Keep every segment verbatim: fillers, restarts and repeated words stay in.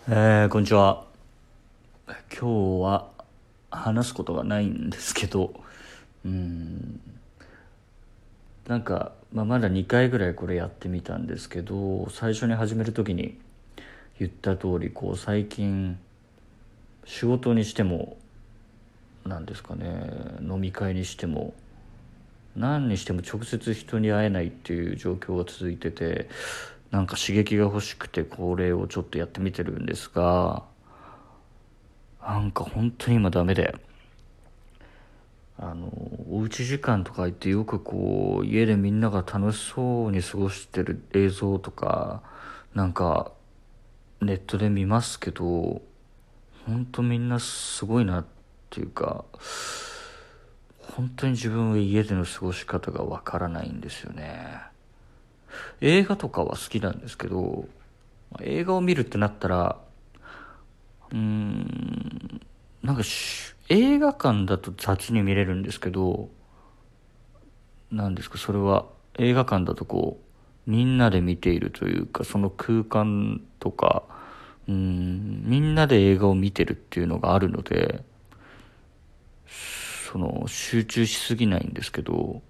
えー、こんにちは。今日は話すことがないんですけど、うーん、なんか、まあ、まだにかいぐらいこれやってみたんですけど、最初に始める時に言った通り、こう最近仕事にしても、なんですかね、飲み会にしても、何にしても直接人に会えないっていう状況が続いてて、なんか刺激が欲しくてこれをちょっとやってみてるんですが、なんか本当に今ダメで。あのおうち時間とか言ってよくこう家でみんなが楽しそうに過ごしてる映像とかなんかネットで見ますけど、本当みんなすごいなっていうか、本当に自分は家での過ごし方がわからないんですよね。映画とかは好きなんですけど、映画を見るってなったら、うーんなんかし映画館だと雑に見れるんですけど、なんですか、それは映画館だとこうみんなで見ているというか、その空間とか、うーんみんなで映画を見てるっていうのがあるので、その集中しすぎないんですけど、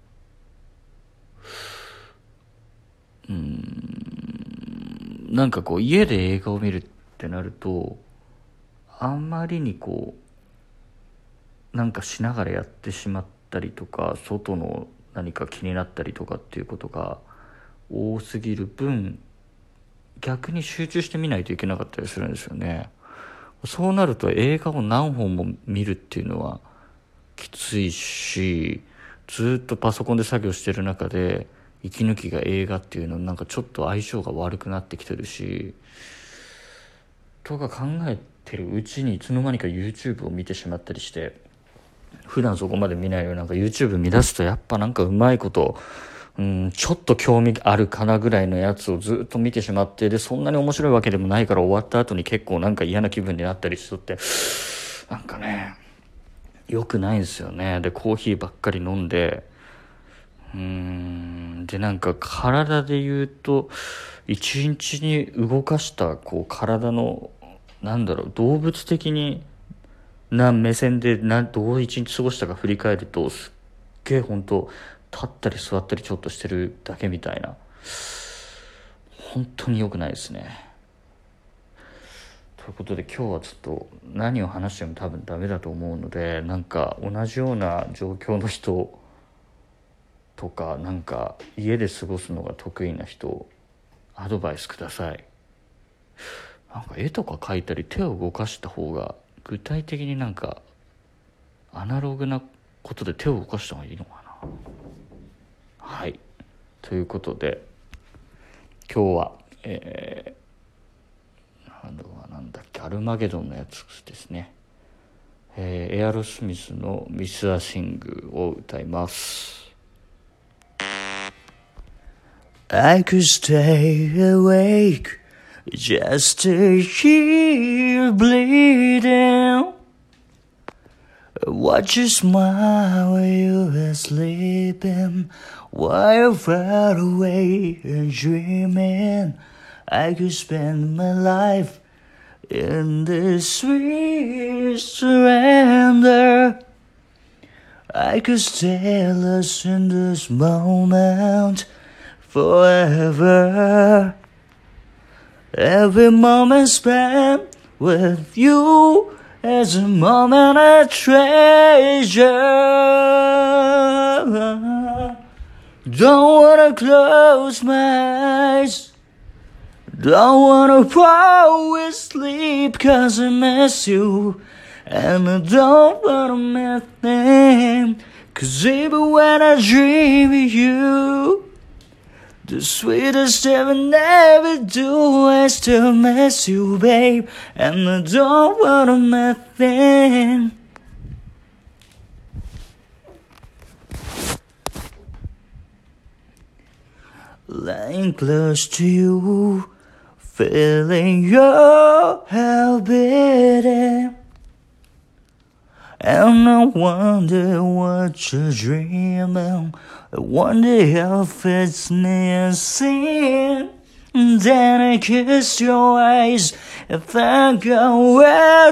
うーんなんかこう家で映画を見るってなると、あんまりにこうなんかしながらやってしまったりとか、外の何か気になったりとかっていうことが多すぎる分、逆に集中して見ないといけなかったりするんですよね。そうなると映画を何本も見るっていうのはきついし、ずっとパソコンで作業してる中で息抜きが映画っていうのなんかちょっと相性が悪くなってきてるし、とか考えてるうちにいつの間にか YouTube を見てしまったりして、普段そこまで見ないのになんか YouTube 見出すとやっぱなんかうまいこと、うん、ちょっと興味あるかなぐらいのやつをずっと見てしまって、でそんなに面白いわけでもないから終わった後に結構なんか嫌な気分になったりしとって、なんかね良くないんですよね。でコーヒーばっかり飲んで、うーんでなんか体で言うと一日に動かしたこう体のなんだろう、動物的にな目線でなどう一日過ごしたか振り返ると、すっげえ本当立ったり座ったりちょっとしてるだけみたいな、本当に良くないですね。ということで今日はちょっと何を話しても多分ダメだと思うので、なんか同じような状況の人とか、なんか家で過ごすのが得意な人アドバイスください。なんか絵とか描いたり手を動かした方が具体的になんかアナログなことで手を動かした方がいいのかな。はい、ということで今日はえー、なんだなんだっけアルマゲドンのやつですね、えー、エアロスミスのミス・ア・シングを歌います。 I could stay awake just to hear you bleeding, watch you smile while you were sleeping, while you're far away and dreaming. I could spend my life in this sweet surrender. I could stay lost in this moment forever. Every moment spent with you is a moment I treasure. Don't wanna close my eyes, don't wanna fall asleep, 'cause I miss you, and I don't wanna miss them, 'cause even when I dream of you, the sweetest thing I never do, I still miss you, babe, and I don't wanna miss them. Lying close to you, feeling your heart beating, and I wonder what you're dreaming. I wonder if it's me and sin. Then I kiss your eyes and think we're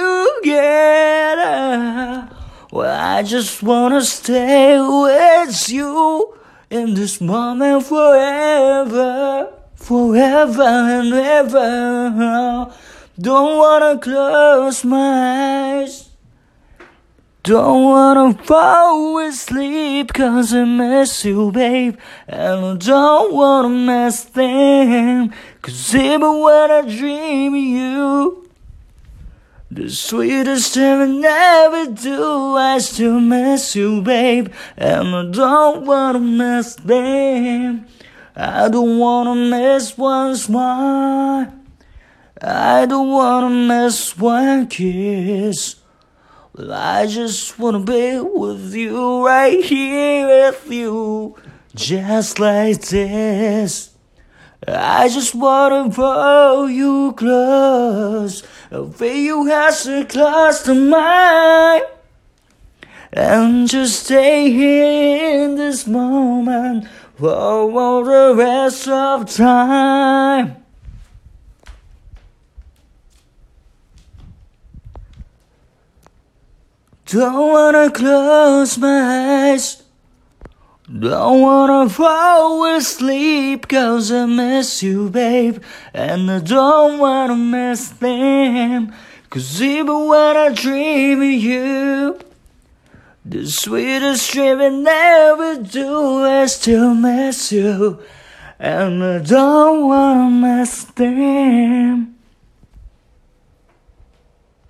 together. Well, I just wanna stay with you in this moment forever, forever and ever. Don't wanna close my eyes, don't wanna fall asleep, cause I miss you, babe. And I don't wanna miss them, cause even when I dream of you, the sweetest thing I ever do, I still miss you, babe. And I don't wanna miss them, I don't wanna miss one smile, I don't wanna miss one kiss. Well, I just wanna be with you, right here with you, just like this. I just wanna pull you close, feel you have so close to mine, and just stay here in this moment for all the rest of time. Don't wanna close my eyes, don't wanna fall asleep, cause I miss you, babe. And I don't wanna miss them, cause even when I dream of you, the sweetest dream I never do, I still miss you. And I don't wanna miss them.